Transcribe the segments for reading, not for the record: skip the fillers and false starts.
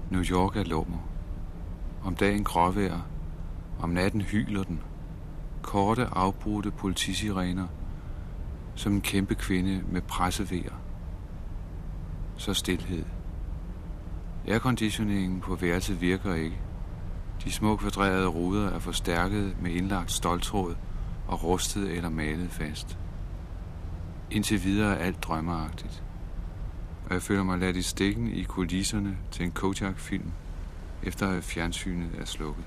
New York er lummer. Om dagen gråvejr, om natten hyler den. Korte, afbrudte politisirener, som en kæmpe kvinde med pressevejer. Så stilhed. Airconditioningen på værelset virker ikke. De små kvadrerede ruder er forstærket med indlagt ståltråd og rustet eller malet fast. Indtil videre er alt drømmeagtigt. Og jeg føler mig ladt i stikken i kulisserne til en Kojak-film, efter at fjernsynet er slukket.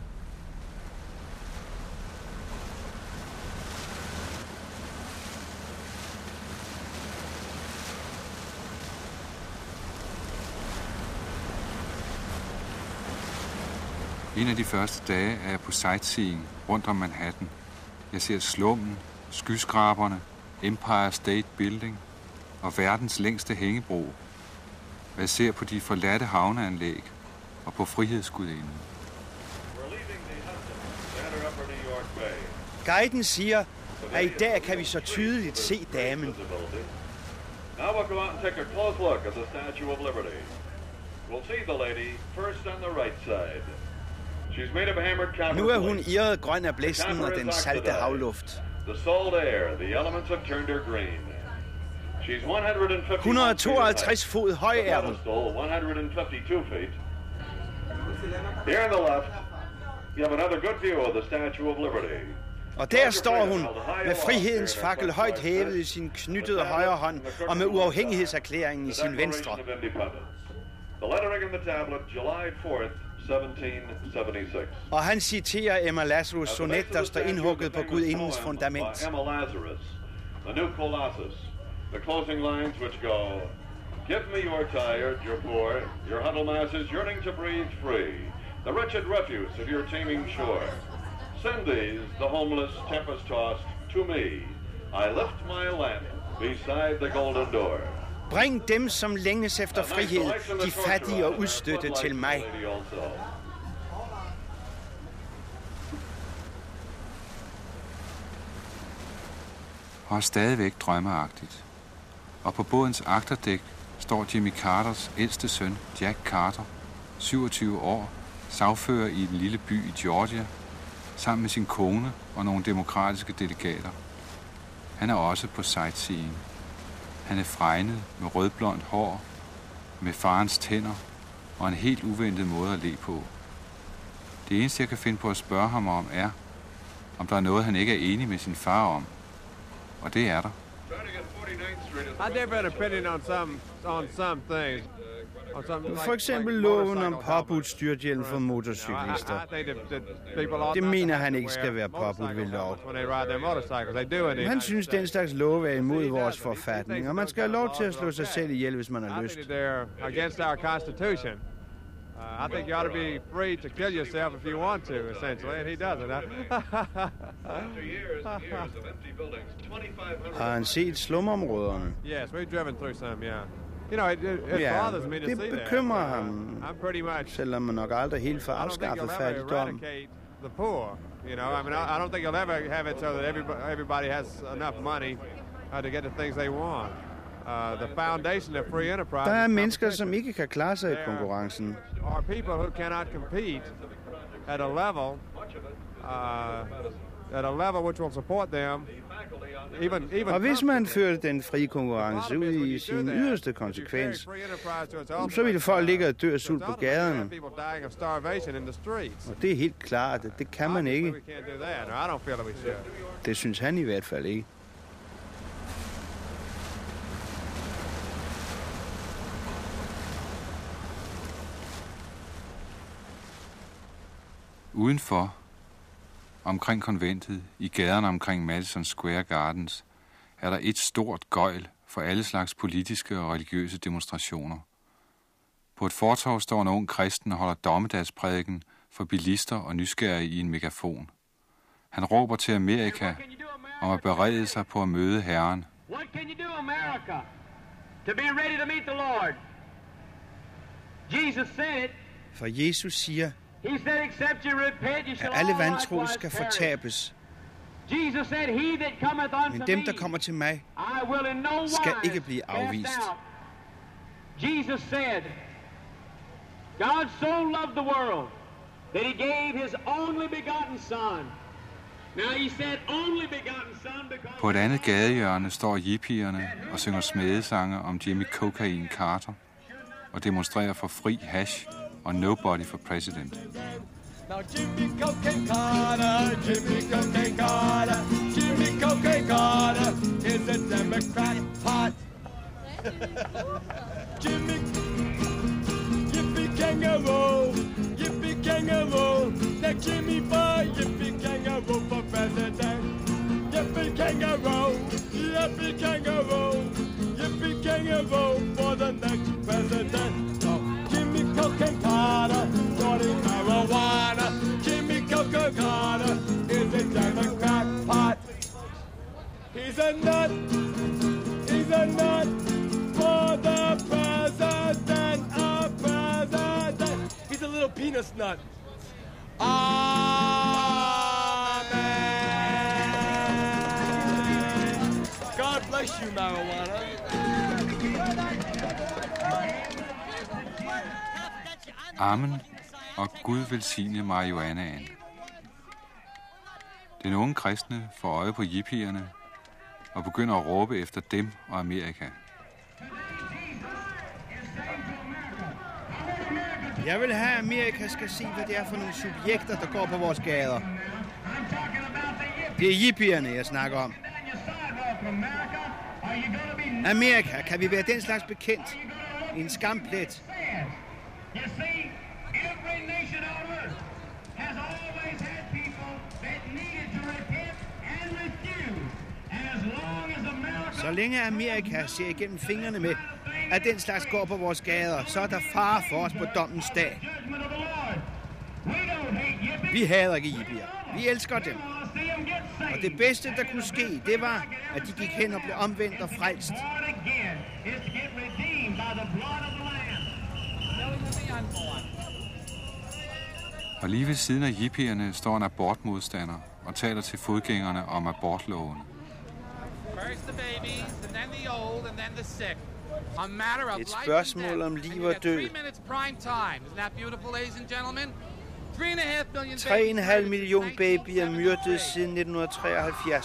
En af de første dage er jeg på sightseeing rundt om Manhattan. Jeg ser slummen, skyskraberne, Empire State Building og verdens længste hængebro. Og jeg ser på de forladte havneanlæg og på Frihedsgudinden. Guiden siger, at i dag kan vi så tydeligt se damen. Now we'll go out and take a close look at the Statue of Liberty. We'll see the lady first on the right side. She's made of hammered copper. Nu er hun irret grøn af blæsten og den salte havluft. The salt air, the elements have turned her green. She's 152 fod høj er hun. 152 feet. Here on the left, you have another good view of the Statue of Liberty. Og der står hun med frihedens fakkel højt hævet i sin knyttede højre hånd og med uafhængighedserklæringen i sin venstre. Og han citerer Emma Lazarus sonet, der står indhugget på gudindens fundament. The closing lines which go, give me your tired, your poor, your huddled masses yearning to breathe free, the wretched refuse of your teeming shore. Send these, the homeless, tempest-tossed, to me. I lift my lamp beside the golden door. Bring dem, som længes efter frihed, de fattige og udstødte, til mig. Og stadigvæk drømmeagtigt. Og på bådens agterdæk står Jimmy Carters ældste søn, Jack Carter, 27 år, sagfører i en lille by i Georgia, sammen med sin kone og nogle demokratiske delegater. Han er også på sightseeing. Han er fregnet med rødblondt hår, med farens tænder og en helt uventet måde at le på. Det eneste, jeg kan finde på at spørge ham om, er, om der er noget, han ikke er enig med sin far om. Og det er der. For eksempel loven om påbudt styrthjelm for motorcyklister. Det mener han ikke skal være påbudt ved lov. Han synes, den slags lov er imod vores forfatning, og man skal have lov til at slå sig selv ihjel, hvis man har lyst. I think you ought to be free to kill yourself if you want to, essentially, and he doesn't. Har han set slumområderne? Yes, we've driven through some, yeah. You know, it bothers me to see that. Det bekymrer ham, I'm pretty much, selvom man nok aldrig helt får afskaffet fattigdom. The poor, you know. I mean, I don't think you'll ever have it so that everybody has enough money to get the things they want. The foundation of free enterprise. Der er mennesker, som ikke kan klare sig i konkurrencen. Are people who cannot compete at a level which will support them. Even og hvis man førte den frie konkurrence ud i sin yderste konsekvens, så ville folk ligge og dø af sult på gaderne. Og det er helt klart, at det kan man ikke. Det synes han i hvert fald ikke. Udenfor, omkring konventet, i gaderne omkring Madison Square Gardens, er der et stort gøjl for alle slags politiske og religiøse demonstrationer. På et fortov står en ung kristen og holder dommedagsprædiken for bilister og nysgerrige i en megafon. Han råber til Amerika om at berede sig på at møde Herren. What can you do, America, to be ready to meet the Lord? Jesus said it. For Jesus siger, He said, except you repent, you shall at alle all vantro likewise skal perish. fortabes. Jesus said, he that cometh unto Men dem, me, der kommer til mig, I will in no skal wise ikke blive afvist. cast out. Jesus said, God so loved the world that he gave his only begotten son. Now he said only begotten son because... På et andet gadehjørne står hippierne og synger smedesange om Jimmy Cocaine Carter og demonstrerer for fri hash og nobody for president. Now Jimmy Cocaine Carter, Jimmy Cocaine Carter, Jimmy Cocaine Carter is a Democrat pot. Jimmy, yippee kangaroo, yippee kangaroo, now Jimmy boy, yippee kangaroo for president. Yippee kangaroo, yippee kangaroo, yippee kangaroo for the next president. So Jimmy Cocaine Carter, snorting marijuana. Jimmy Cocaine Carter is a Democrat pot. He's a nut, he's a nut for the president, a president. He's a little penis nut. Amen. God bless you, marijuana. Amen, og Gud velsigne marihuanaen. Den unge kristne får øje på hippierne og begynder at råbe efter dem og Amerika. Jeg vil have, at Amerika skal se, hvad det er for nogle subjekter, der går på vores gader. Det er hippierne, jeg snakker om. Amerika, kan vi være den slags bekendt? En skamplet. Så længe Amerika ser igennem fingrene med, at den slags går på vores gader, så er der fare for os på dommens dag. Vi hader ikke hippier. Vi elsker dem. Og det bedste, der kunne ske, det var, at de gik hen og blev omvendt og frelst. Og lige ved siden af hippierne står en abortmodstander og taler til fodgængerne om abortloven. Et spørgsmål om liv og død. 3,5 millioner babyer myrdet siden 1973.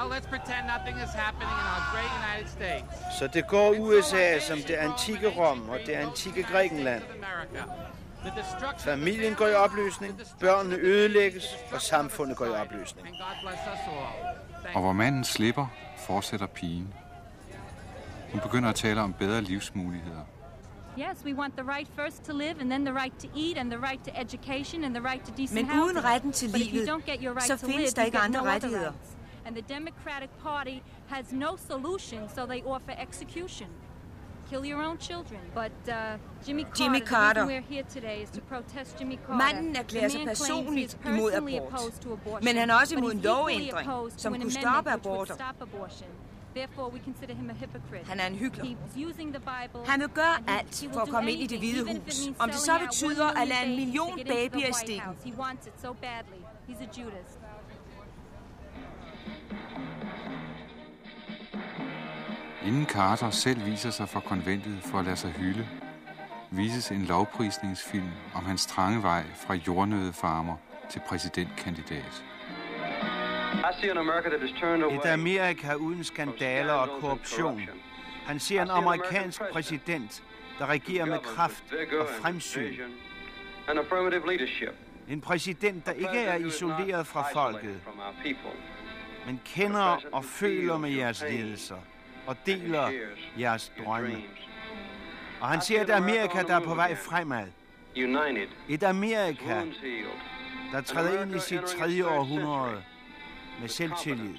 Så det går USA som det antikke Rom og det antikke Grækenland. Familien går i opløsning, børnene ødelægges, og samfundet går i opløsning. Og hvor manden slipper, fortsætter pigen. Hun begynder at tale om bedre livsmuligheder. Yes, we want the right first to live, and then the right to eat, and the right to education, and the right to decent housing. Men uden retten til livet, så findes der ikke andre rettigheder. And the Democratic Party has no solution, so they offer execution. Kill your own children. But Jimmy Carter, we're here today is to protest Jimmy Carter. Manden erklærer sig personligt imod abort, men han er også imod en lovændring, som kunne stoppe aborter. Therefore, we consider him a hypocrite. Han er en hykler. Han vil gøre alt for at komme ind i Det Hvide Hus. Om det så betyder at lade 1 million babyer i stikken. He wants it so badly. He's a Judas. Inden Carter selv viser sig for konventet for at lade sig hylde, vises en lovprisningsfilm om hans trange vej fra jordnøddefarmer til præsidentkandidat. Et Amerika uden skandaler og korruption. Han ser en amerikansk præsident, der regerer med kraft og fremsyn. En præsident, der ikke er isoleret fra folket, men kender og føler med jeres lidelser og deler jeres drømme. Og han ser et Amerika, der er på vej fremad. Et Amerika, der træder ind i sit 3. århundrede med selvtillid.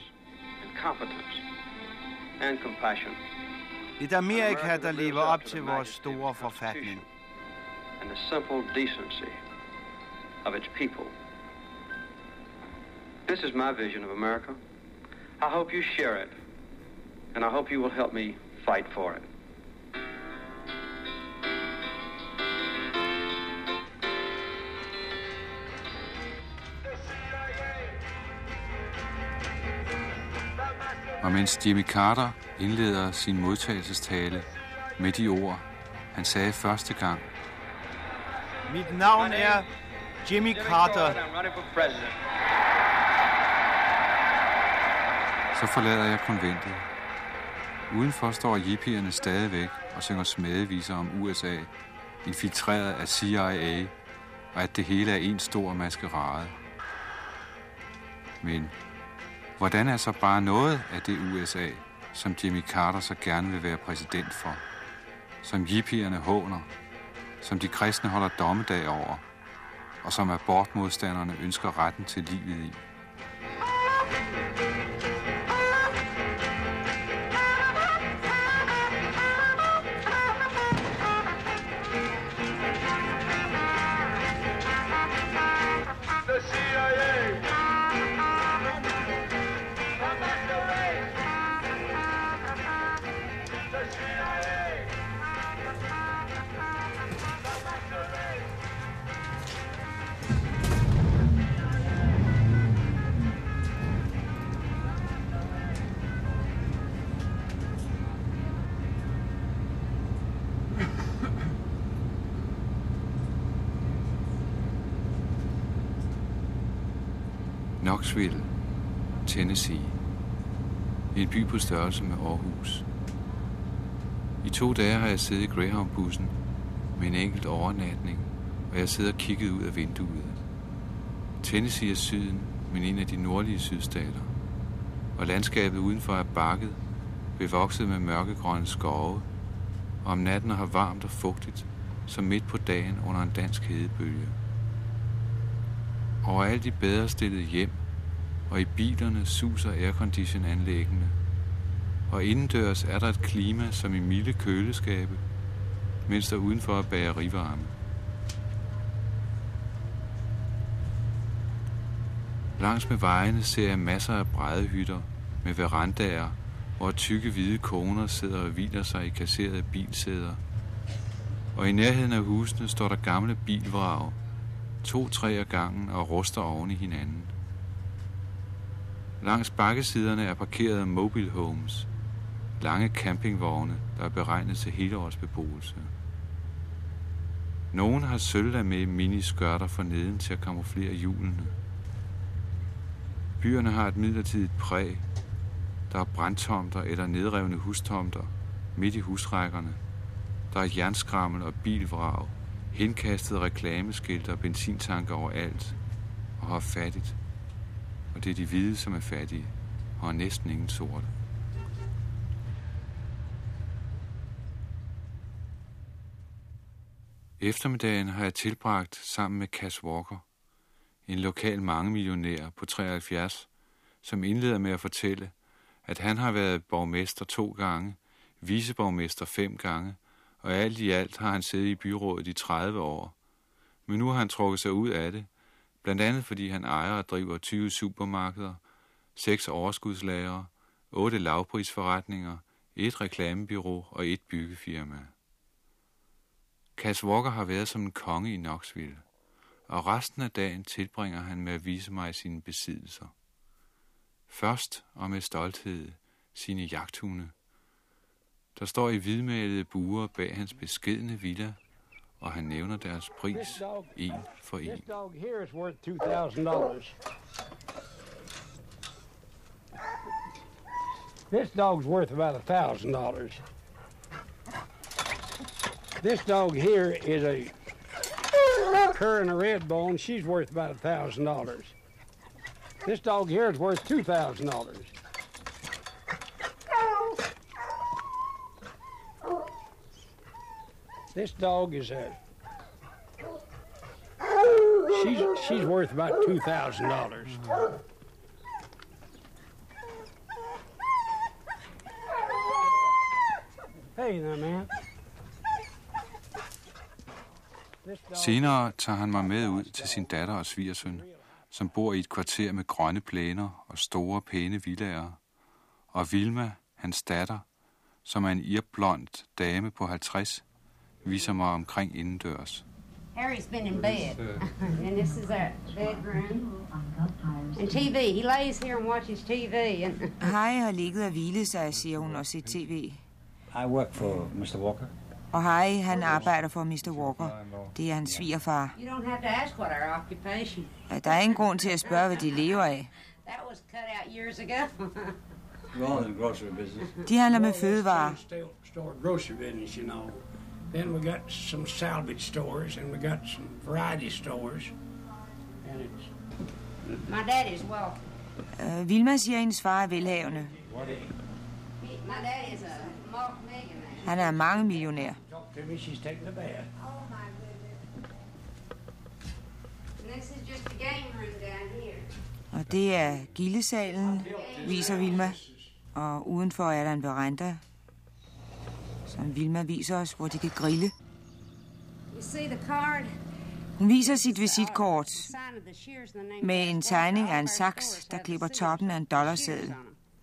Et Amerika, der lever op til vores store forfatning. And the simple decency of its people. This is my vision of America. I hope you share it, and I hope you will help me fight for it. Og mens Jimmy Carter indleder sin modtagelsestale med de ord, han sagde første gang, Mit navn er Jimmy Carter. Så forlader jeg konventet. Udenfor står hippierne stadigvæk og synger smadeviser om USA, infiltreret af CIA, og at det hele er en stor maskerade. Men hvordan er så bare noget af det USA, som Jimmy Carter så gerne vil være præsident for, som hippierne håner, som de kristne holder dommedag over, og som abortmodstanderne ønsker retten til livet i? Knoxville, Tennessee. En by på størrelse med Aarhus. I 2 dage har jeg siddet i Greyhound-bussen med en enkelt overnatning, og jeg sidder og kigget ud af vinduet. Tennessee er syden, men en af de nordlige sydstater. Og landskabet udenfor er bakket, bevokset med mørkegrønne skove, og om natten har varmt og fugtigt, som midt på dagen under en dansk hedebølge. Overalt i bedre stillede hjem, og i bilerne suser aircondition-anlæggene. Og indendørs er der et klima som i milde køleskabe, mens der udenfor er bagerivarme. Langs med vejene ser jeg masser af bræddehytter med verandaer, hvor tykke hvide koner sidder og hviler sig i kasserede bilsæder. Og i nærheden af husene står der gamle bilvrag, 2-3 ad gangen og ruster oven i hinanden. Langs bakkesiderne er parkeret mobile homes, lange campingvogne, der er beregnet til helårsbeboelse. Nogen har sølvlag med miniskørter for neden til at kamuflere hjulene. Byerne har et midlertidigt præg. Der er brandtomter eller nedrevne hustomter midt i husrækkerne. Der er jernskrammel og bilvrag, henkastede reklameskilte og benzintanker overalt, og har fattigt. Og det er de hvide, som er fattige, og har næsten ingen sorte. Eftermiddagen har jeg tilbragt sammen med Cass Walker, en lokal mangemillionær på 73, som indleder med at fortælle, at han har været borgmester 2 gange, viceborgmester 5 gange, og alt i alt har han siddet i byrådet i 30 år. Men nu har han trukket sig ud af det, blandt andet fordi han ejer og driver 20 supermarkeder, 6 overskudslagre, 8 lavprisforretninger, 1 reklamebureau og 1 byggefirma. Cass Walker har været som en konge i Knoxville, og resten af dagen tilbringer han med at vise mig sine besiddelser. Først og med stolthed sine jagthunde, der står i hvidmalede buer bag hans beskedne villa, og han nævner deres pris en for en. This dog here is worth $2,000. This dog's worth about $1,000. This dog here is a cur and a red bone. She's worth about $1,000. This dog here is worth $2,000. This dog is she's worth about $2,000. Hey there, man. Senere tager han mig med ud til sin datter og svigersøn, som bor i et kvarter med grønne plæner og store, pæne villaer. Og Vilma, hans datter, som er en irblond dame på 50, viser mig omkring indendørs. Harry's been in bed, and this is our bedroom. And TV. He lays here and watches TV. Harry har ligget og hvilet sig, siger hun, og set TV. I work for Mr. Walker. Og Harry, han arbejder for Mr. Walker. Det er hans svigerfar. Der er ingen grund til at spørge, hvad de lever af. De handler med fødevarer. Then we got some salvage stores, and we got some variety stores. And it's... My dad is wealthy. Vilma siger, at hendes far er velhavende. My dad is a multi-millionaire. Han er mange millionær. Talk to me, she's taking a bath. Oh my goodness. And this is just the game room down here. Og det er gildesalen, viser Vilma. Og udenfor er der en veranda, som Vilma viser os, hvor de kan grille. Hun viser sit visitkort med en tegning af en saks, der klipper toppen af en dollarseddel.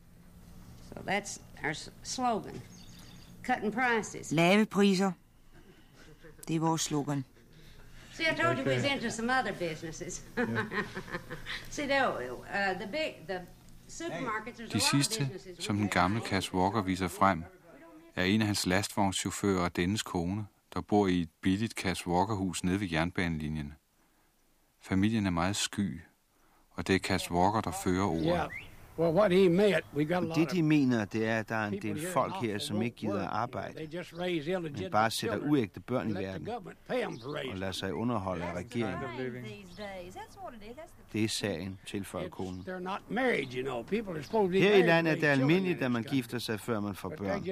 Lave priser. Det er vores slogan. See, I told you we was into some other businesses. See, the supermarkets, there's a De lot of sidste, businesses. som den gamle Cass Walker viser frem, er en af hans lastvognschauffører og dennes kone, der bor i et billigt Cass Walker-hus nede ved jernbanelinjen. Familien er meget sky, og det er Cass Walker, der fører ordet. Det, de mener, det er, at der er en del folk her, som ikke gider arbejde, men bare sætter uægte børn i verden og lader sig underholde af regeringen. Det er sagen, tilføjer konen. Her i landet er det almindeligt, at man gifter sig, før man får børn.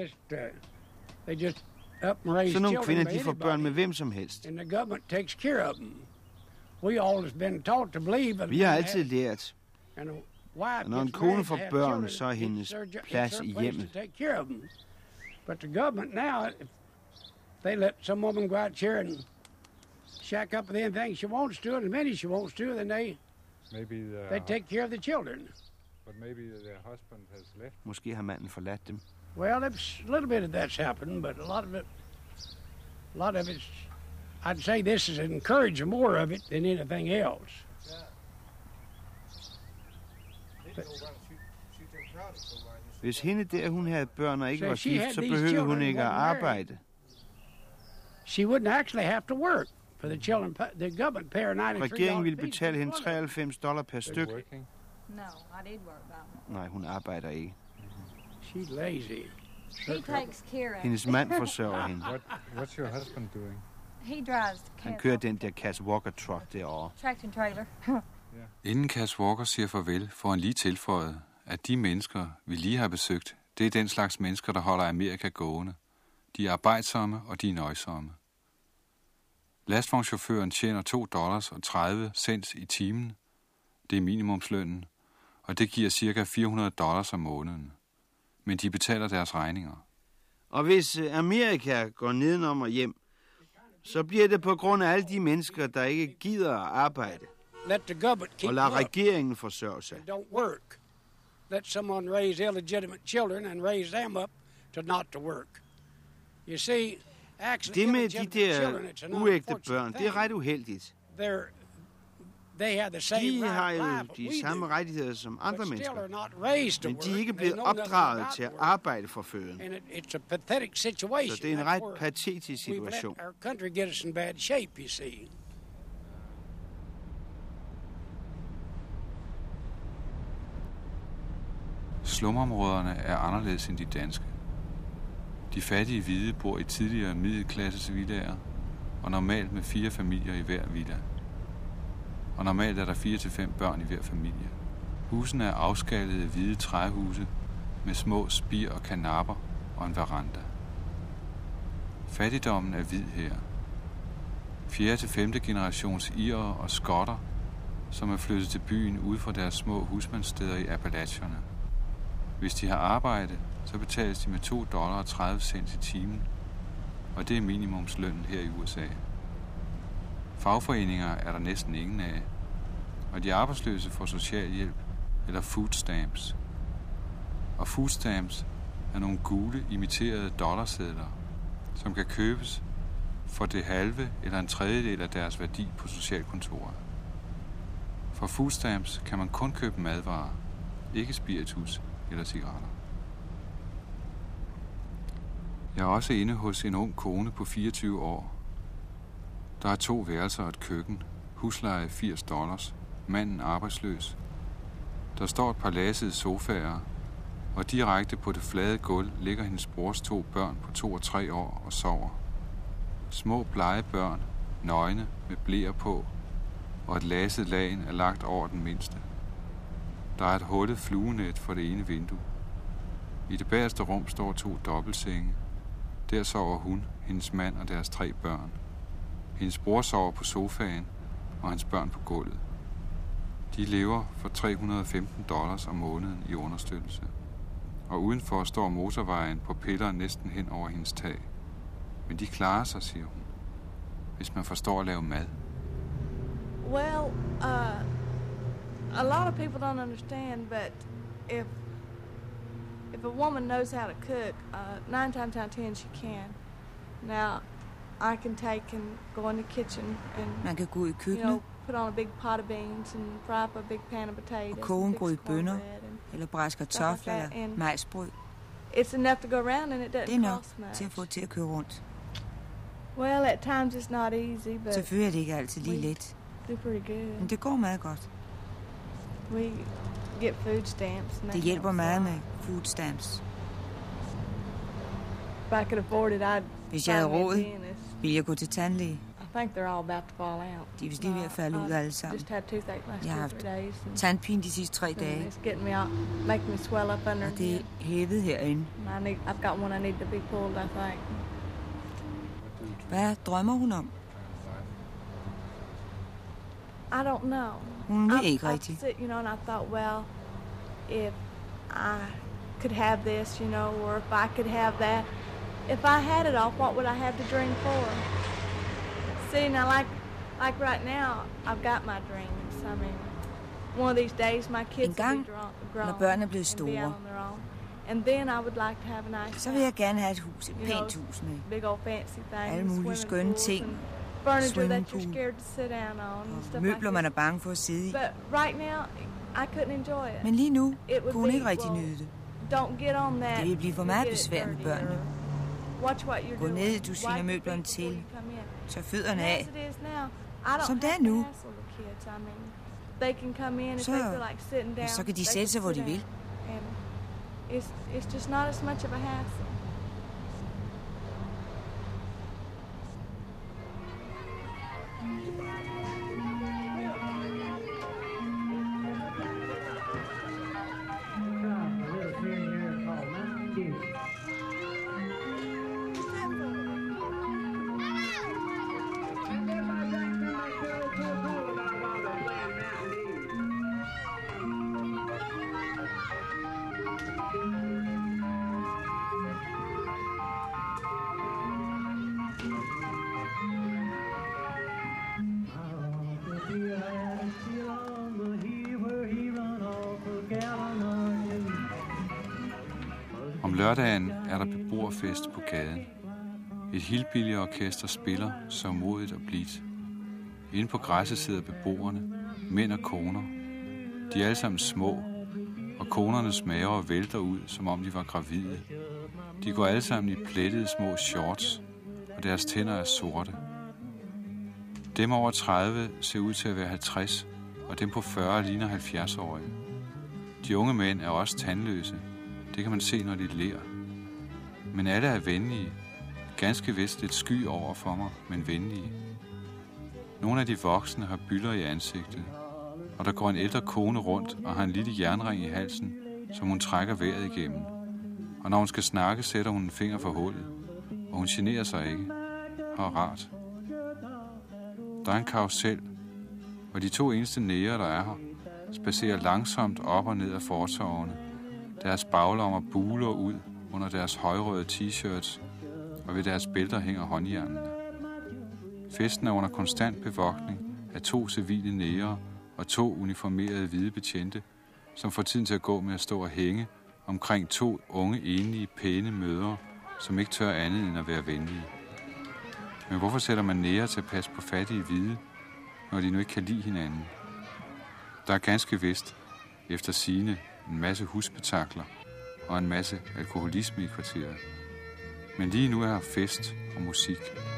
Så nogle kvinder, de får børn med hvem som helst. Vi har altid lært, og når en kone får børn, så er hendes plads i hjemmet. But the government now, they let some woman go out here and shack up with anything she wants to, and as many she wants to, then they take care of the children. But maybe their husband has left. Måske har manden forladt dem. Well, a little bit of that's happened, but a lot of it's, I'd say this is encouraging more of it than anything else. Hvis hende der, hun havde børn og ikke var gift, så behøvede hun ikke at arbejde. She wouldn't actually have to work for the children. The government paid $93. Regeringen ville betale hende $93 per styk. No, I did work about. Nej, hun arbejder ikke. She's lazy. He takes care of. Hendes mand forsørger hende. What's your husband doing? He drives the Han kører den der Cass Walker truck derovre. tractor trailer. Inden Cass Walker siger farvel, får han lige tilføjet, at de mennesker, vi lige har besøgt, det er den slags mennesker, der holder Amerika gående. De er arbejdsomme, og de er nøjsomme. Lastvognschaufføren tjener $2.30 i timen. Det er minimumslønnen, og det giver ca. $400 om måneden. Men de betaler deres regninger. Og hvis Amerika går nedenom og hjem, så bliver det på grund af alle de mennesker, der ikke gider at arbejde. Og lader regeringen forsørge sig. Let someone raise illegitimate children and raise them up to not to work. You see, actually, det med de der uægte børn, det er ret uheldigt. De har jo de samme rettigheder som andre mennesker, men de er ikke blevet opdraget til at arbejde for føden. Så det er en ret patetisk situation. Slumområderne er anderledes end de danske. De fattige hvide bor i tidligere middelklasses villaer, og normalt med 4 familier i hver villa. Og normalt er der 4-5 børn i hver familie. Husene er afskallede hvide træhuse med små spir og karnapper og en veranda. Fattigdommen er hvid her. 4. til 5. generations irere og skotter, som er flyttet til byen ude fra deres små husmandssteder i Appalachierne. Hvis de har arbejde, så betales de med $2.30 i timen, og det er minimumslønnen her i USA. Fagforeninger er der næsten ingen af, og de arbejdsløse får socialhjælp eller food stamps. Og food stamps er nogle gule, imiterede dollarsedler, som kan købes for det halve eller en tredjedel af deres værdi på socialkontoret. For food stamps kan man kun købe madvarer, ikke spiritus eller cigaretter. Jeg er også inde hos en ung kone på 24 år. Der er 2 værelser og et køkken. Husleje $80. Manden arbejdsløs. Der står et par lasede sofaer, og direkte på det flade gulv ligger hendes brors 2 børn på 2 og 3 år og sover. Små blege børn, nøgne med bleer på, og et laset lagen er lagt over den mindste. Der er et hullet fluenet for det ene vindue. I det bagerste rum står 2 dobbeltsenge. Der sover hun, hendes mand og deres 3 børn. Hendes bror sover på sofaen, og hans børn på gulvet. De lever for $315 om måneden i understøttelse. Og udenfor står motorvejen på piller næsten hen over hendes tag. Men de klarer sig, siger hun, hvis man forstår at lave mad. Well, a lot of people don't understand, but if a woman knows how to cook, 9 times out of 10 she can. Now, I can take and go in the kitchen and man kan gå i køkkenet, put on a big pot of beans and fry up a big pan of potatoes. Og koge en grød bønner, eller bræse kartofler eller majsbrød. It's enough to go around and it doesn't det er nok cost much. til at få til at køre rundt. Well, at times it's not easy, but selvfølgelig er det ikke altid lige let. Do pretty good. Men det går meget godt. We get food stamps. Det hjælper meget med food stamps. If I could afford it, I'd hvis jeg havde råd, ville jeg gå til tandlæge. I think they're all about to fall out. De er vist lige ved at falde ud alle sammen. Jeg har haft tandpine de sidste 3 dage. It's getting me out, making me swell up under. Og det er hævet herinde. I've got one I need to be pulled, I think. Hvad drømmer hun om? I don't know. Hun ved ikke rigtigt. You know, and I thought, well, if I could have this, or if I could have that. If I had it all, what would I have to dream for? See, now, like right now, I've got my dreams. I mean, one of these days, my kids will be grown når børnene er blevet and be store, out on their own. And then I would like to have a nice så vil jeg gerne have et hus, et pænt hus med big old fancy things, alle mulige skønne ting, furniture that you're scared to sit down on, and stuff møbler, like man er bange for at sidde i. But right now, I couldn't enjoy it. Men lige nu kunne hun ikke rigtig nyde det. Don't get on that. Det vil blive for meget besvær med børnene. Gå ned, du sviner møblerne til. Så fødderne af. Som det er nu. Så kan de sætte sig, hvor de vil. It's just not as much of a hassle. Om lørdagen er der beboerfest på gaden. Et hillbilly-orkester spiller så modigt og blidt. Inde på græsset sidder beboerne, mænd og koner. De er alle sammen små, og konernes maver vælter ud, som om de var gravide. De går alle sammen i plettede små shorts, og deres tænder er sorte. Dem over 30 ser ud til at være 50, og dem på 40 ligner 70-årige. De unge mænd er også tandløse. Det kan man se, når de ler. Men alle er venlige. Ganske vist lidt sky over for mig, men venlige. Nogle af de voksne har bylder i ansigtet, og der går en ældre kone rundt og har en lille jernring i halsen, som hun trækker vejret igennem. Og når hun skal snakke, sætter hun en finger for hullet, og hun generer sig ikke. Og rart. Der er en karusel, og de 2 eneste næger, der er her, spacerer langsomt op og ned af fortovene. Deres baglommer buler ud under deres højrøde t-shirts, og ved deres bælter hænger håndjernene. Festen er under konstant bevogtning af 2 civile næger og 2 uniformerede hvide betjente, som får tiden til at gå med at stå og hænge omkring 2 unge, enlige, pæne mødre, som ikke tør andet end at være venlige. Men hvorfor sætter man næger til at passe på fattige hvide, når de nu ikke kan lide hinanden? Der er ganske vist, efter sigende, en masse husspektakler og en masse alkoholisme i kvarteret. Men lige nu er her fest og musik.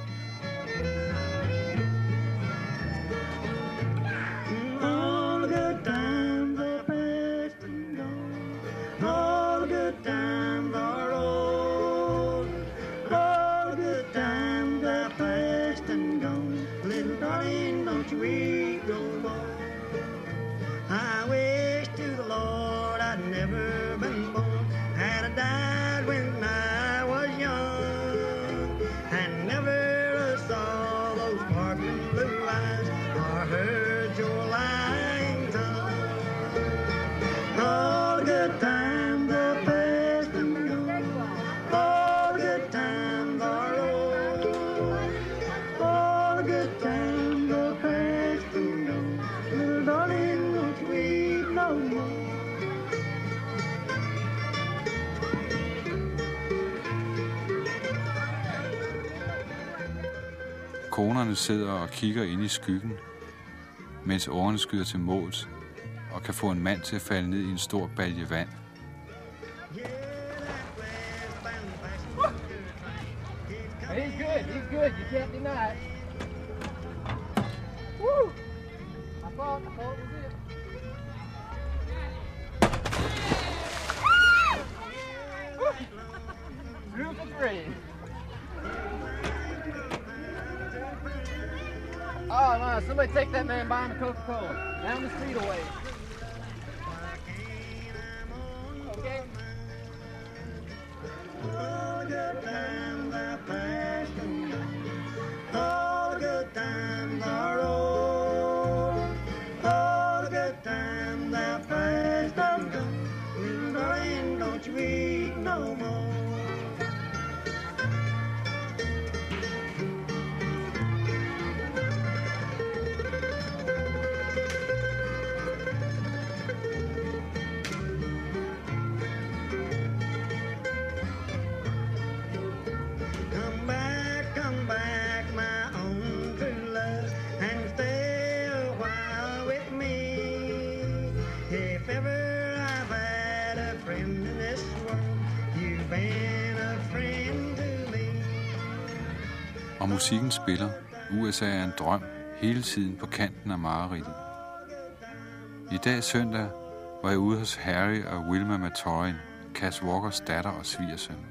Konerne sidder og kigger ind i skyggen, mens årene skyder til måls og kan få en mand til at falde ned i en stor balje vand. He's good. He's good. You can't deny it. Woo! I thought it was it. Through the green. Oh, man, somebody take that man buying a Coca-Cola. Down the street away. Okay. All good times are past and gone. All good times are over. All good times are past and gone. Little darling, don't you weep no more. Og musikken spiller. USA er en drøm hele tiden på kanten af mareridtet. I dag søndag var jeg ude hos Harry og Wilma Matorin, Cass Walkers datter og svigersøn.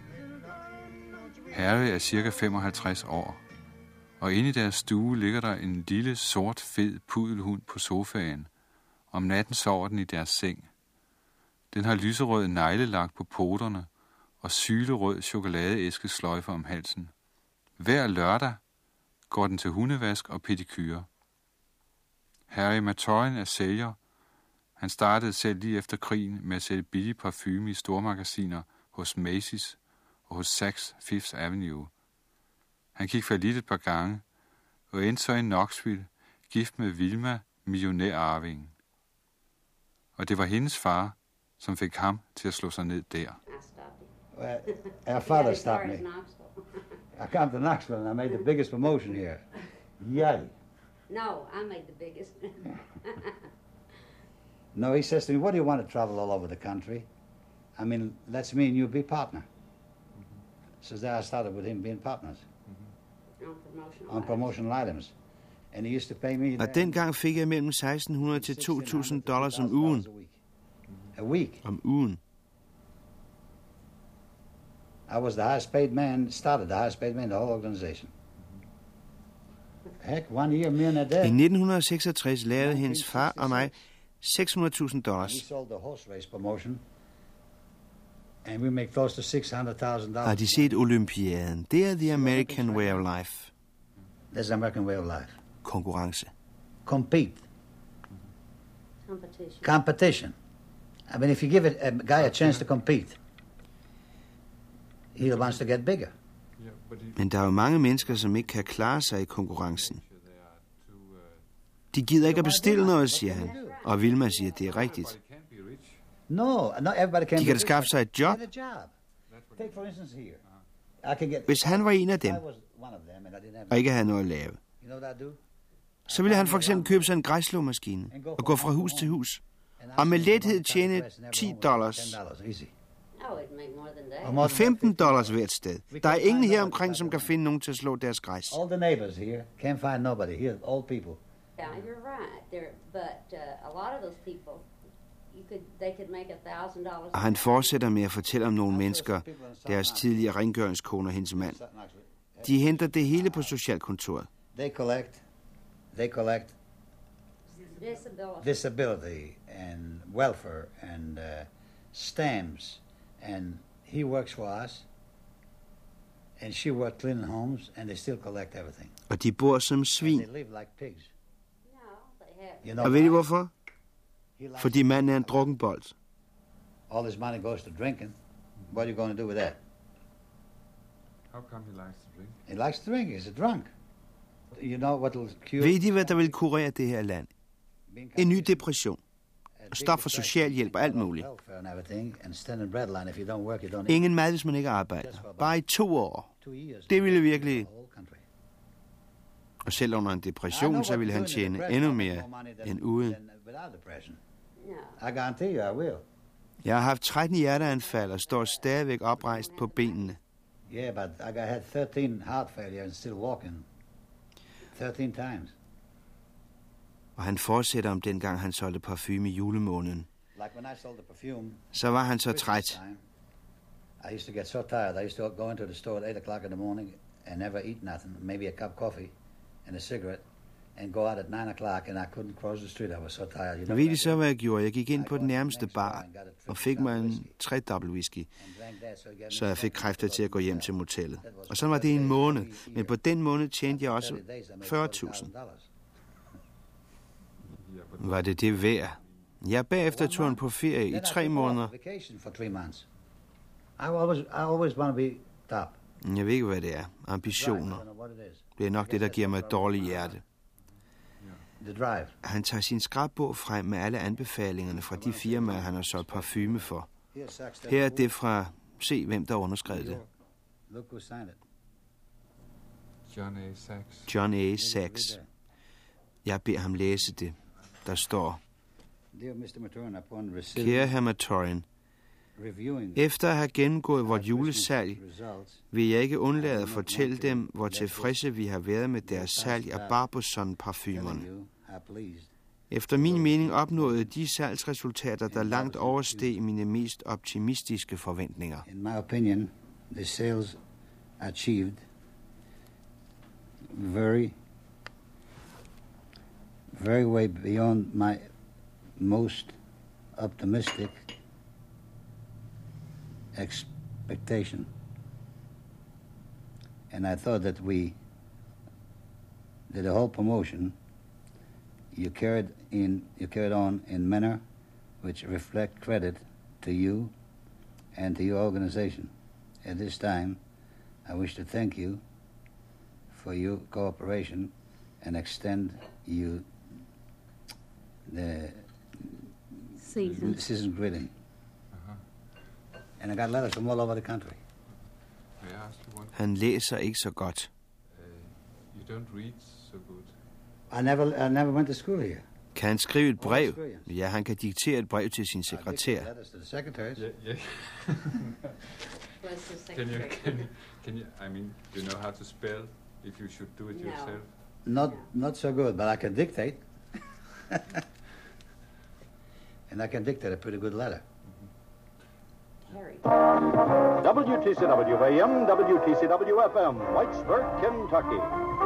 Harry er cirka 55 år, og inde i deres stue ligger der en lille, sort, fed pudelhund på sofaen. Om natten sover den i deres seng. Den har lyserød neglelak på poterne og sylerød chokoladeæskesløjfer om halsen. Hver lørdag går den til hundevask og pedikyre. Harry Matorin er sælger. Han startede selv lige efter krigen med at sælge billig parfume i stormagasiner hos Macy's og hos Saks Fifth Avenue. Han gik fallit et par gange og endte så i Knoxville, gift med Wilma, millionærarvingen. Og det var hendes far, som fik ham til at slå sig ned der. Well, our father stopped me. I come to Knoxville and I made the biggest promotion here. Yay. No, I made the biggest. No, he says to me, what do you want to travel all over the country? I mean, let's me and you be partner. So there I started with him being partners. On promotional items. And he used to pay me. Og dengang fik jeg mellem $1,600 til $2,000 om ugen. A week. Om ugen. I was the highest paid man, started the highest paid man in the whole organization. Heck, 1 year, me and a day. I 1966 lavede hendes far og mig $600,000. We sold the horse race promotion, and we make close to $600,000. Har de set Olympiaden? Det er the American way of life. That's the American way of life. Konkurrence. Compete. Competition. I mean, if you give a guy a chance to compete, he wants to get bigger. Men der er jo mange mennesker, som ikke kan klare sig i konkurrencen. De gider ikke at bestille noget, siger han. Og Wilma siger, at det er rigtigt. No, not everybody can. De kan da skaffe sig et job. Take for instance here. I can get. Hvis han var en af dem, og ikke havde noget at lave, så ville han for eksempel købe sig en græsslåmaskine og gå fra hus til hus, og med lethed tjene $10. Og $15 hvert sted. Der er ingen her omkring, som kan finde nogen til at slå deres græs. All the neighbors here can't find nobody here, old people. Yeah, you're right. But a lot of those people, they could make $1,000. Og han fortsætter med at fortælle om nogle mennesker, deres tidligere rengøringskone og hendes mand. De henter det hele på socialkontoret. They collect disability and welfare and stamps, and he works for us, and she works cleaning homes, and they still collect everything. Og de bor som svin. They live like pigs. Og ved I hvorfor? Fordi manden er en drukkenbold. All this money goes to drinking. What are you going to do with that? How come he likes to drink? He likes to drink. He's a drunk. You know what will cure? Ved I, hvad der vil kurere det her land? En ny depression. Stop for socialhjælp og alt muligt. Ingen mad, hvis man ikke arbejder. Bare i 2 år. Det ville virkelig... Og selv under en depression, så ville han tjene endnu mere end uden. Jeg har haft 13 hjerteanfald og står stadigvæk oprejst på benene. Yeah, but I had 13 heart failure and still walking. 13 times. Og han fortsætter om dengang han solgte parfume i julemåneden. Så var han så træt. I used to get so tired. I used to go into the store at 8 o'clock in the morning and never eat nothing. Maybe a cup of coffee and a cigarette. And go out at 9 o'clock, and I couldn't cross the street. I was so tired. You know, ved I så, hvad jeg gjorde? Jeg gik ind på den nærmeste bar og fik mig en 3-dobbelt whisky, så jeg fik kræfter til at gå hjem til motellet. Og så var det en måned, men på den måned tjente jeg også 40.000. Var det værd? Jeg bagefter tog han på ferie i 3 måneder. I always want to be top. Jeg ved ikke, hvad det er. Ambitioner. Det er nok det, der giver mig et dårligt hjerte. Han tager sin skrabbog frem med alle anbefalingerne fra de firmaer, han har solgt parfume for. Her er det fra... Se, hvem der underskrev det. John A. Sachs. Jeg beder ham læse det. Der står... Kære hr. Maturin, efter at have gennemgået vort julesalg, vil jeg ikke undlade at fortælle dem, hvor tilfredse vi har været med deres salg af Barbizon-parfumerne. Efter min mening opnåede de salgsresultater, der langt oversteg mine mest optimistiske forventninger. In my opinion, the sales achieved very way beyond my most optimistic expectation. And I thought that we did the whole promotion. You carried on in manner which reflect credit to you and to your organization. At this time, I wish to thank you for your cooperation and extend you the season greeting. And I got letters from all over the country. Han læser ikke så godt. You don't read so good. I never went to school here. Kan han skrive et brev? Ja, han kan diktere et brev til sin sekretær. Yeah. Can you? I mean, do you know how to spell? If you should do it yourself. Not so good, but I can dictate. And I can dictate a pretty good letter. WTCW AM, WTCW FM, Whitesburg, Kentucky.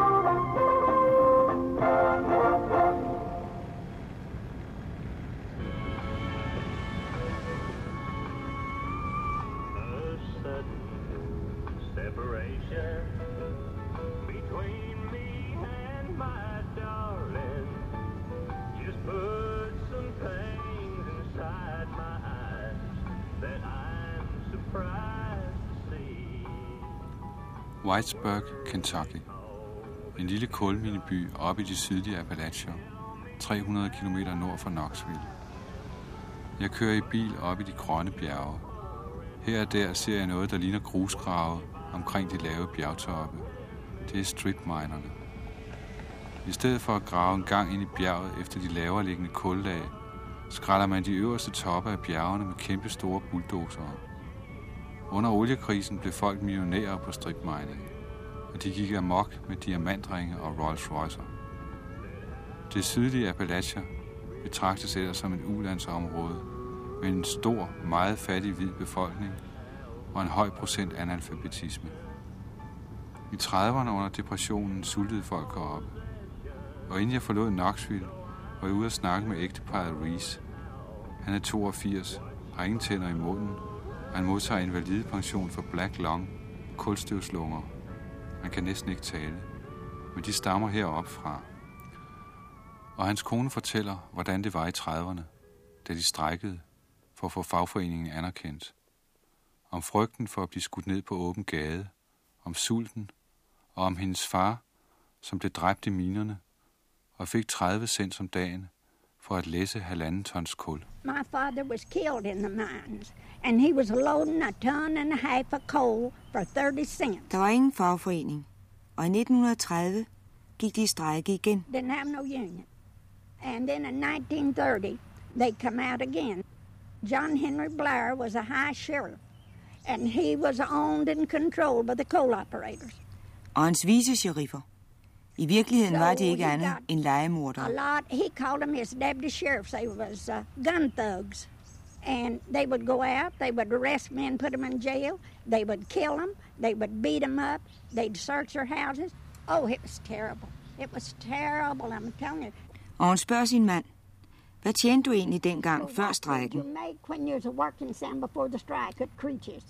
A sudden separation between me and my darling just put some things inside my eyes that I'm surprised to see. Whitesburg, Kentucky. En lille kulmineby oppe i de sydlige Appalachier, 300 km nord for Knoxville. Jeg kører i bil op i de grønne bjerge. Her og der ser jeg noget, der ligner grusgrave omkring de lave bjergtoppe. Det er stripminerne. I stedet for at grave en gang ind i bjerget efter de lavere liggende kullag, skræller man de øverste toppe af bjergene med kæmpe store bulldozere. Under oliekrisen blev folk millionærer på strip mining, og de gik amok med diamantringe og Rolls Roycer. Det sydlige Appalachia betragtes ellers som et ulandsområde med en stor, meget fattig hvid befolkning og en høj procent analfabetisme. I 30'erne under depressionen sultede folk heroppe, og inden jeg forlod Knoxville, var jeg ude at snakke med ægteparret Reese. Han er 82, har ingen tænder i munden, og han modtager invalidepension for black lung, kulstøvslunger. Han kan næsten ikke tale, men de stammer heroppe fra. Og hans kone fortæller, hvordan det var i 30'erne, da de strejkede for at få fagforeningen anerkendt. Om frygten for at blive skudt ned på åben gade, om sulten og om hendes far, som blev dræbt i minerne og fik 30 cents om dagen for at læsse 1,5 tons kul. My father was killed in the mines, and he was loading a ton and a half of coal for 30 cents. Der var ingen fagforening, og i 1930 gik de i strejke igen. Didn't have no union. And then in 1930, they come out again. John Henry Blair was a high sheriff, and he was owned and controlled by the coal operators. Og hans vice-sheriffer. I virkeligheden var de ikke andet end legemordere. He called them his deputy sheriffs. They was gun thugs. And they would go out, they would arrest men, put them in jail, they would kill them, they would beat them up, they'd search their houses. Oh, it was terrible. It was terrible, I'm telling you. Og hun spørger sin mand, hvad tjente du egentlig dengang før strejken? You make when you was a working son before the strike at Creeches.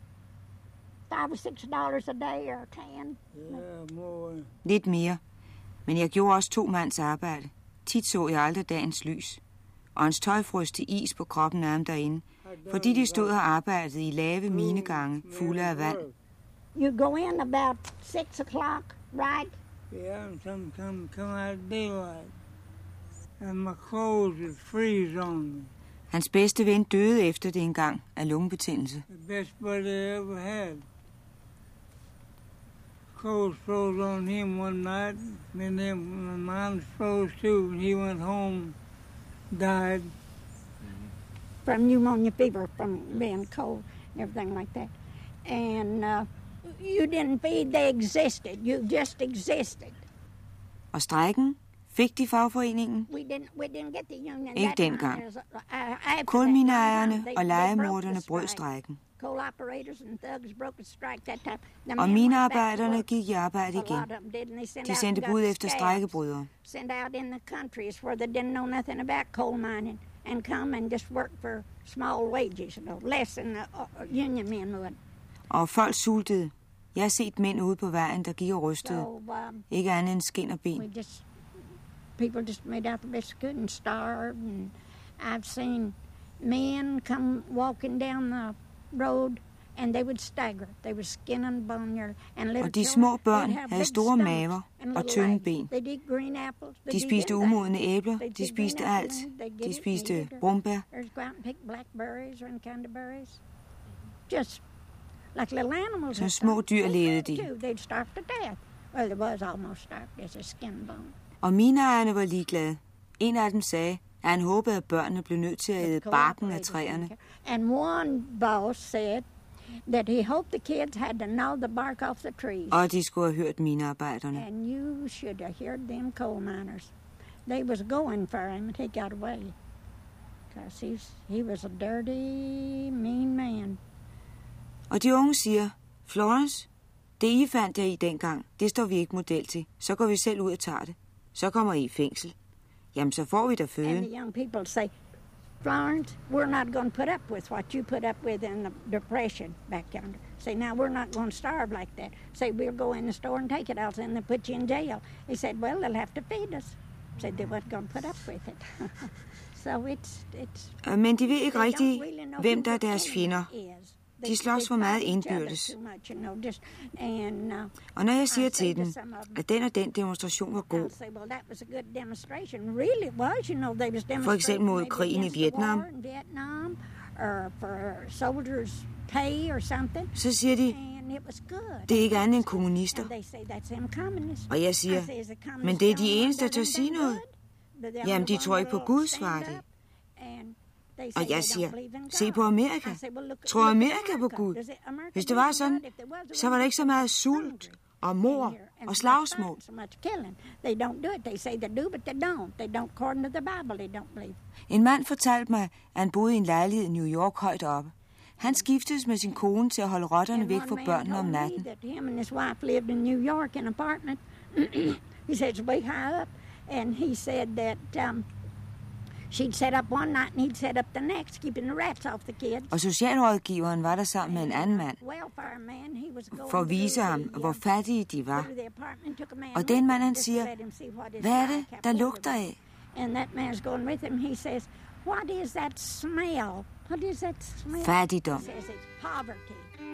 $5 or $6 a day or 10. Yeah, more. Lidt mere, men jeg gjorde også 2 mands arbejde. Tit så jeg aldrig dagens lys. Og hans tøj frøs til is på kroppen af ham derinde, fordi de stod og arbejdede i lave minegange fulde af vand. You go in about 6 o'clock, right? Yeah, some come out daylight. And my clothes would freeze on me. Hans bedste ven døde efter det engang af lungebetændelse. The best buddy I ever had. Clothes froze on him one night, and then mine froze too, and he went home, died. From pneumonia fever, from being cold, everything like that. And you didn't feed, they existed. You just existed. Og strejken? Fik de fagforeningen? We didn't get the union. Ikke dengang. Kulmineejerne og legemorderne brød strejken. Og minearbejderne gik i arbejde igen. De sendte bud efter strejkebrydere. Og folk sultede. Jeg har set mænd ude på vejen, der gik og rystede. Ikke andet end skin og ben. People just made out the best they could and starved. And I've seen men come walking down the road, and they would stagger. They were skin and bone. Og de små børn havde store maver og tynde ben. De spiste umodne æbler, de spiste alt. De spiste brumbær. Som små dyr levede de. Well, it was almost starved as a skin and bone. Og mineejerne var ligeglade. En af dem sagde, at han håbede, at børnene blev nødt til at æde barken af træerne. And one boss said that he hoped the kids had to gnaw the bark off the trees. Og de skulle have hørt minearbejderne. And you should have heard them coal miners. They was going for him, and he got away. Because he was a dirty, mean man. Og de unge siger, Florence, det I fandt jer i dengang, det står vi ikke model til. Så går vi selv ud og tager det. Så kommer I i fængsel. Jamen, så får vi da føden. And the young people say, Florence, we're not going to put up with what you put up with in the depression back yonder. Say, now we're not going to starve like that. Say, we'll go in the store and take it out and they'll put you in jail. He said, well, they'll have to feed us. Said they weren't going to put up with it. So it's. Men de ved ikke rigtigt, hvem der er deres fjender. De slås for meget indbyrdes. Og når jeg siger til dem, at den og den demonstration var god, for eksempel mod krigen i Vietnam, så siger de, det er ikke andet end kommunister. Og jeg siger, men det er de eneste, der tør sige noget. Jamen, de tror ikke på Gud, svarer de. Og jeg siger, se på Amerika. Tror Amerika på Gud? Hvis det var sådan, så var der ikke så meget sult og mord og slagsmål. En mand fortalte mig, at han boede i en lejlighed i New York højt oppe. Han skiftedes med sin kone til at holde rotterne væk fra børnene om natten. He said it's way high up, and he said that she'd set up one night, and he'd set up the next, keeping the rats off the kids. Og socialrådgiveren var der sammen med en anden mand, for at vise ham, hvor fattige de var. Og den mand, han siger, hvad er det, der lugter af? And that man's going with him. He says, what is that smell? What is that smell? Fattigdom. He says it's poverty.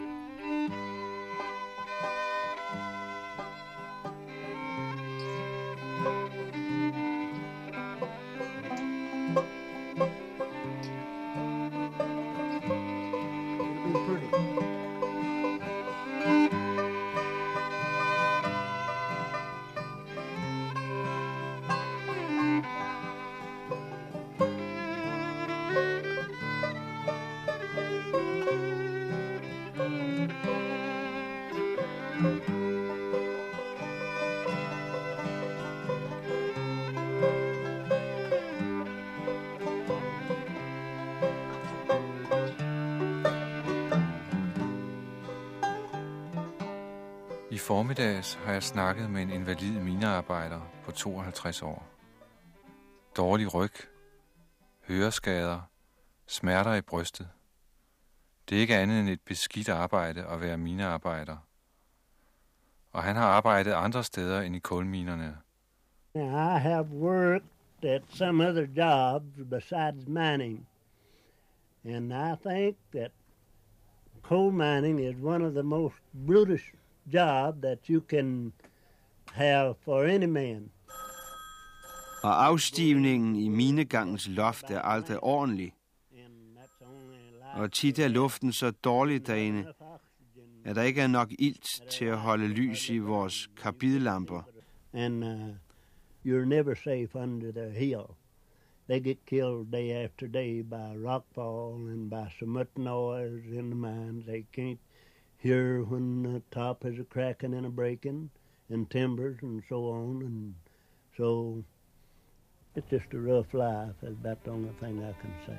I formiddags har jeg snakket med en invalid minearbejder på 52 år. Dårlig ryg, høreskader, smerter i brystet. Det er ikke andet end et beskidt arbejde at være minearbejder. Og han har arbejdet andre steder end i kulminerne. I have worked at some other jobs besides mining. And I think that coal mining is one of the most brutish job that you can have for any man. Og afstivningen i minegangens loft er aldrig ordentlig. Og tit er luften så dårlig derinde, at der ikke er nok ilt til at holde lys i vores karbidlamper. And you're never safe under the hill. They get killed day after day by rockfall and by cement noise in the mines. They can't hear when the top is a cracking and a breaking, and timbers and so on, and so it's just a rough life. That's about the only thing I can say.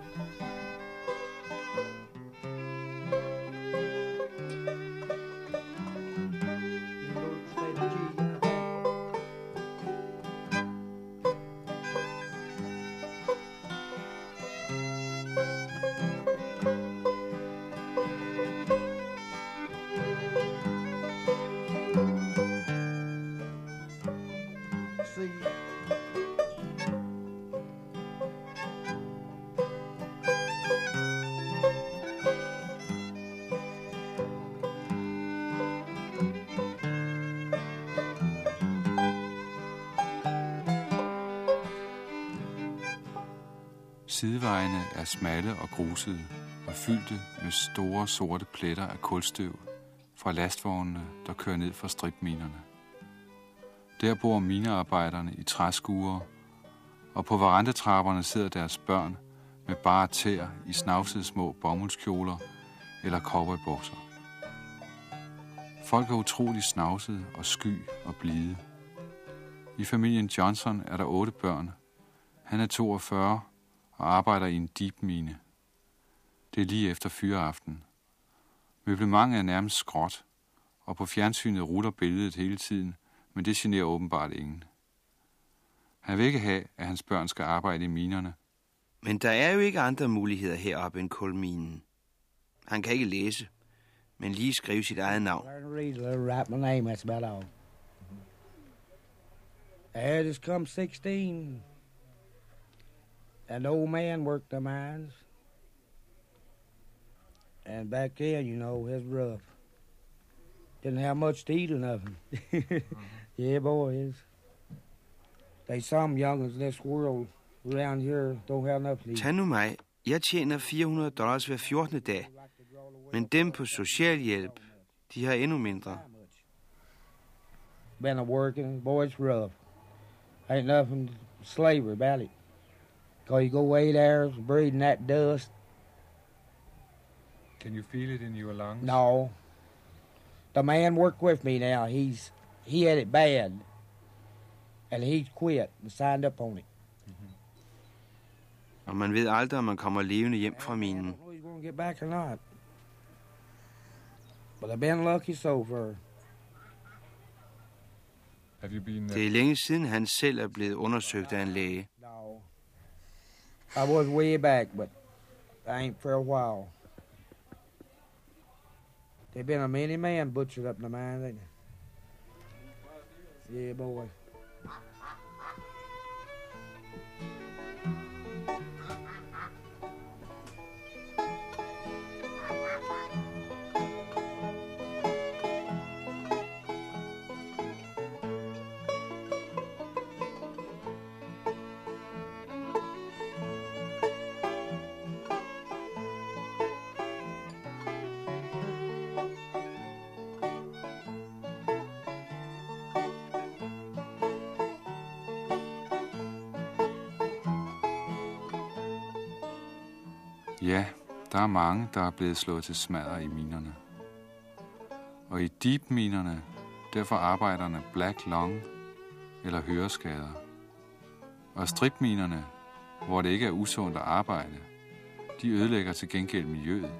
Sidevejene er smalle og grusede og fyldte med store sorte pletter af kulstøv fra lastvognene, der kører ned fra stripminerne. Der bor minearbejderne i træskuer, og på verandatrapperne sidder deres børn med bare tæer i snavsede små bomuldskjoler eller cowboybukser. Folk er utrolig snavsede og sky og blide. I familien Johnson er der 8 børn. Han er 42 og arbejder i en deepmine. Det er lige efter fyreaften. Møblementet er nærmest skråt, og på fjernsynet ruller billedet hele tiden, men det generer åbenbart ingen. Han vil ikke have, at hans børn skal arbejde i minerne. Men der er jo ikke andre muligheder heroppe end kulminen. Han kan ikke læse, men lige skrive sit eget navn. I just come 16. An old man worked the mines. And back then, you know, it was rough. Didn't have much to eat or nothing. Yeah, boys. They some young in this world around here don't have enough to eat. Tag nu mig. Jeg tjener $400 hver 14. dag. Men dem på socialhjælp, de har endnu mindre. Been a working, boy, it's rough. Ain't nothing slavery about it. Because you go way there breathing that dust. Can you feel it in your lungs? No. The man worked with me now. He had it bad. And he quit and signed up on it. Og man ved aldrig, om man kommer levende hjem fra minen. He's going to get back or not. But I've been lucky so far. Det er længe siden, han selv er blevet undersøgt af en læge. No. I was way back, but I ain't for a while. There's been a many man butchered up in the mine, ain't there? Yeah, boy. Ja, der er mange, der er blevet slået til smadder i minerne. Og i deep-minerne, der får arbejderne black lung eller høreskader. Og strip-minerne, hvor det ikke er usundt at arbejde, de ødelægger til gengæld miljøet.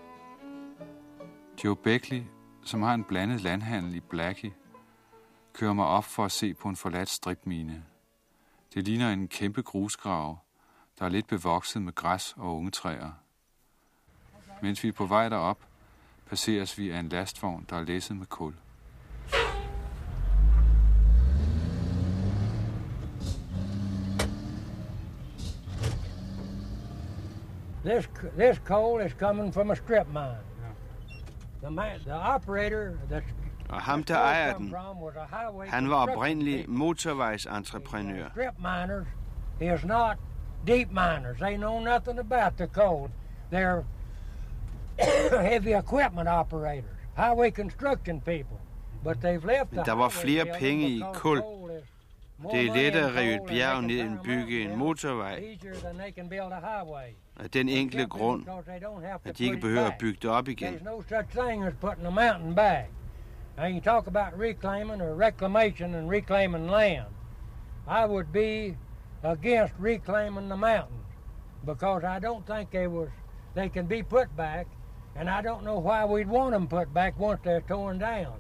Joe Beckley, som har en blandet landhandel i Blackie, kører mig op for at se på en forladt stripmine. Det ligner en kæmpe grusgrav, der er lidt bevokset med græs og unge træer. Mens vi er på vej derop, passeres vi af en lastvogn, der er læsset med kul. This coal is coming from a strip mine. The operator that's Og ham, der ejer den, han var oprindelig motorvejsentreprenør. Strip miners is not deep miners. They know nothing about the coal. They're heavy equipment operators, highway construction people. But they've left the der var flere penge i kul. Det er let at rive et bjerg ned og bygge en motorvej. Af den enkle grund, at de ikke behøver at bygge det op igen. There's no such thing as putting a mountain back. Now you talk about reclaiming or reclamation and reclaiming land. I would be against reclaiming the mountains because I don't think they can be put back, and I don't know why we'd want them put back once they're torn down.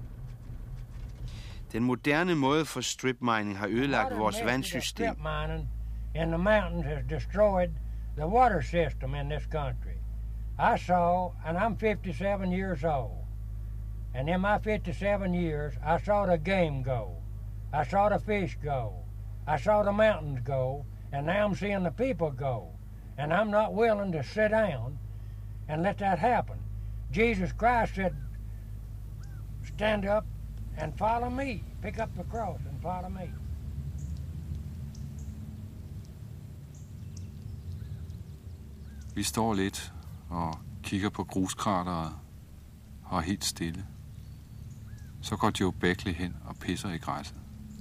Den moderne måde for strip mining har ødelagt vores vandsystem. Strip mining in the mountains has destroyed the water system in this country. I saw, and I'm 57 years old, and in my 57 years, I saw the game go. I saw the fish go. I saw the mountains go, and now I'm seeing the people go. And I'm not willing to sit down and let that happen. Jesus Christ said, stand up and follow me. Pick up the cross and follow me. Vi står lidt og kigger på gruskrateret og er helt stille. Så går Joe Beckley hen og pisser i græsset.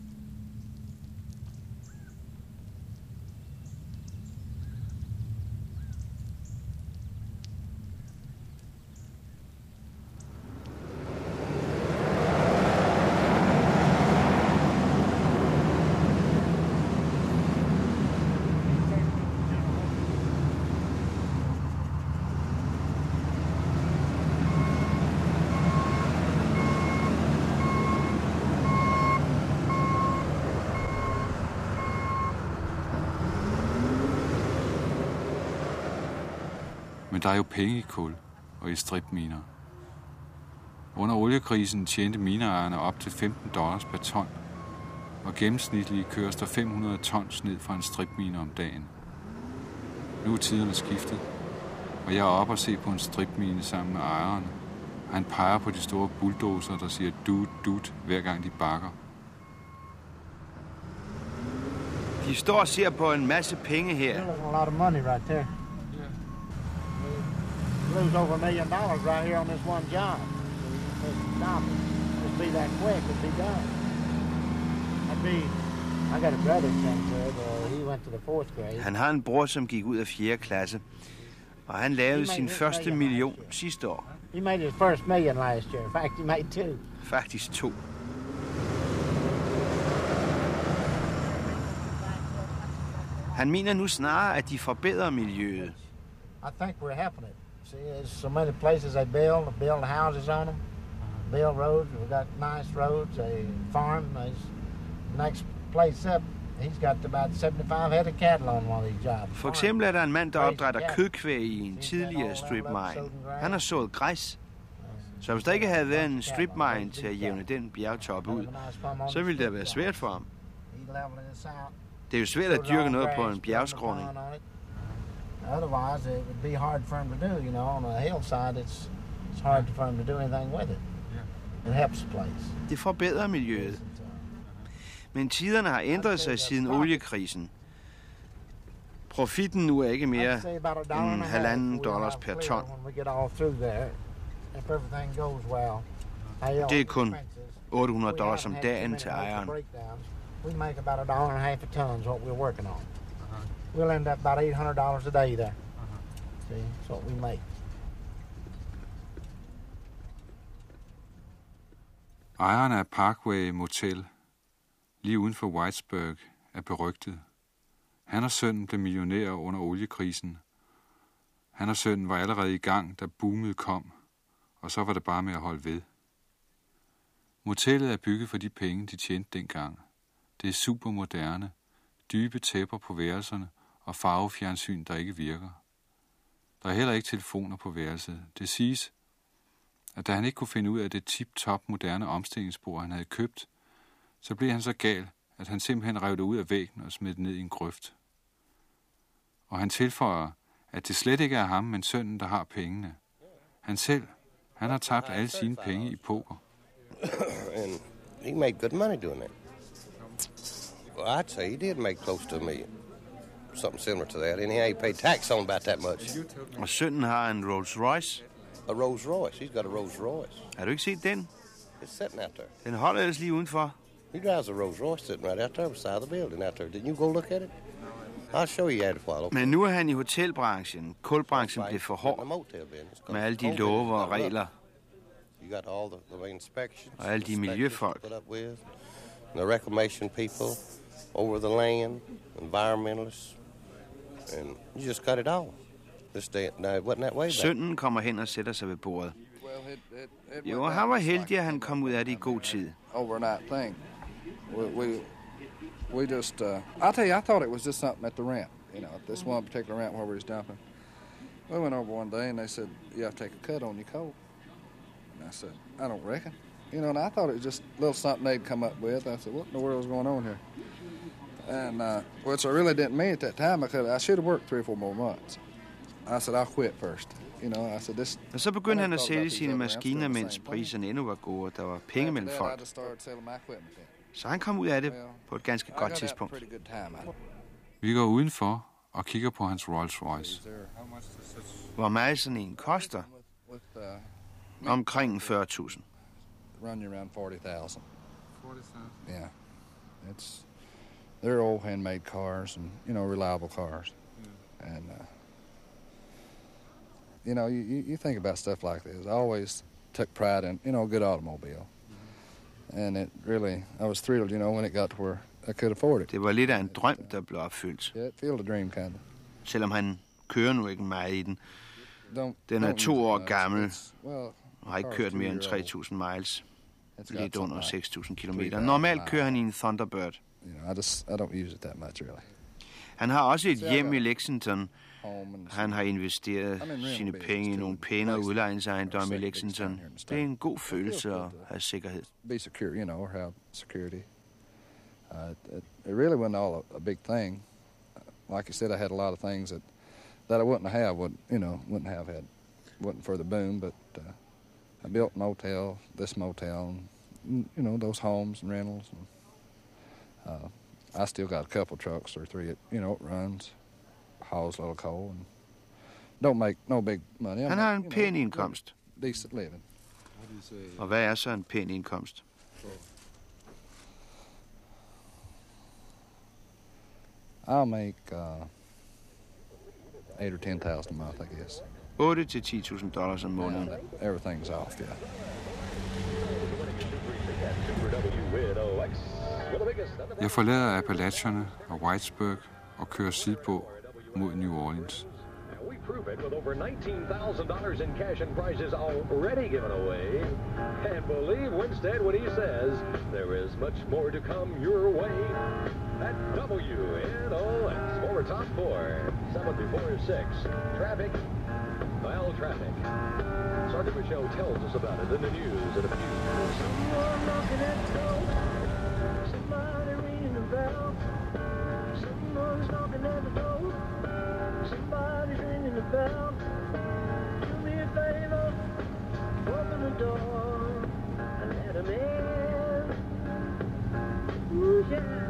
Men der er jo penge i kul og i stripminer. Under oliekrisen tjente mineejerne op til $15 per ton, og gennemsnitligt køres der 500 tons ned fra en stripmine om dagen. Nu er tiderne skiftet, og jeg er oppe og se på en stripmine sammen med ejeren. Han peger på de store bulldozer, der siger dut, dut, hver gang de bakker. De står og ser på en masse penge her. There's a lot of money right there. Lose over $1 million right here on this one job. Just stop it. Just be that quick. It'd be done. That'd be Han har en bror, som gik ud af 4. klasse, og han lavede sin første million sidste år. He made his first million last year. In fact, he made 2. Faktisk 2. Han mener nu snarere, at de forbedrer miljøet. I think we're helping it. See, there's so many places they build houses on them, build roads. We've got nice roads. They farm. There's next place up. He's got about 75 head of cattle on one of these jobs. For eksempel er der en mand, der opdrætter kødkvæg i en tidligere strip mine. Han har sået græs. Så hvis der ikke havde været en strip mine til at jævne den bjergtop ud, så ville det have været svært for ham. Det er jo svært at dyrke noget på en bjergskråning. Otherwise, it would be hard for him to do. You know, on a hillside, it's hard for him to do anything with it. It helps the place. Det forbedrer miljøet. Men tiderne har ændret sig siden oliekrisen. Profitten nu er ikke mere end $1,5 per ton. Det er kun $800 om dagen til ejeren. We make about $1.50 a ton is what we're working on. We'll end up about $800 a day there. See, that's what we make. Ejeren af Parkway Motel, lige uden for Whitesburg, er berygtet. Han og sønnen blev millionærer under oliekrisen. Han og sønnen var allerede i gang, da boomet kom, og så var det bare med at holde ved. Motellet er bygget for de penge, de tjente dengang. Det er super moderne, dybe tæpper på værelserne og farvefjernsyn, der ikke virker. Der er heller ikke telefoner på værelset. Det siges, at da han ikke kunne finde ud af det tip-top moderne omstillingsbord, han havde købt, så blev han så gal, at han simpelthen rev det ud af væggen og smed det ned i en grøft. Og han tilføjer, at det slet ikke er ham, men sønnen, der har pengene. Han har tabt alle sine penge i poker. And he made good money doing that. Well, I'd say he did make close to $1 million. Something similar to that. And he ain't paid tax on about that much. Og sønnen har en Rolls Royce. A Rolls Royce. He's got a Rolls Royce. Har du ikke set den? It's sitting out there. Den holder ellers lige udenfor. He drives a Rolls Royce sitting right out there beside the building out there. Didn't you go look at it? I'll show you at a while. Men nu er han i hotelbranchen. Kulbranchen blev for hård med alle de love og regler. Og alle de miljøfolk. The reclamation people over the land, environmentalists, and you just got it all. This day, now, it wasn't that way back. Sønnen kommer hen og sætter sig ved bordet. Jo, han var heldig, at han kom ud af det i god tid. Overnight thing. We just, I'll tell you, I thought it was just something at the ramp, you know, this one particular ramp where we was dumping. We went over one day and they said, you have to take a cut on your coal. And I said, I don't reckon. You know, and I thought it was just a little something they'd come up with. I said, what in the world is going on here? And, which I really didn't mean at that time. I should have worked 3 or 4 more months. I said, I'll quit first. You know, I said, this... Og så begyndte han at sælge sine maskiner, mens priserne endnu var gode, og der var penge mellem folk. Så han kom ud af det på et ganske godt tidspunkt. Vi går udenfor og kigger på hans Rolls Royce. Hvor meget sådan en koster? Omkring 40.000. Run you around 40,000. Yeah. They're old handmade cars and, you know, reliable cars. And, you know, you think about stuff like this. I always took pride in, you know, a good automobile. And it really, I was thrilled, you know, when it got to where I could afford it. Det var lidt af en drøm, der blev opfyldt. Yeah, it felt a dream, kind of. Selvom han kører nu ikke meget i den. Den er 2 år gammel og har ikke kørt mere end 3.000 miles. Lidt under 6.000 kilometer. Normalt kører han i en Thunderbird. You know, I don't use it that much, really. Han har også et hjem i Lexington. Han har investeret sine penge i nogle pænere udlejningsejendomme i Lexington. Det er en god følelse at have sikkerhed. Be secure, you know, or have security. It really wasn't all a big thing. Like I said, I had a lot of things that I wouldn't have had, wasn't for the boom, but I built an hotel, this motel, and, you know, those homes and rentals. And, I still got a couple trucks or 3, you know, it runs, hauls a little coal, and don't make no big money. Han har en pæn indkomst. Decent living. Og hvad er så en pæn indkomst? I'll make $8,000 or $10,000 a month, I guess. $8,000 til $10,000 om måneden. Yeah, everything's off, yeah. Jeg forlader Appalacherne og Whitesburg og kører sydpå mod New Orleans. We prove it with over $19,000 in cash and prizes already given away. And believe Winstead when he says there is much more to come your way. At WNOX, former top 4, 7 before 6. Traffic, well, traffic. Sergeant Michelle tells us about it in the news in a few. Someone knocking at the door. Somebody ringing the bell. Someone's knocking at the door. Somebody's ringing the bell. Do me a favor, open the door and let him in. Ooh, yeah.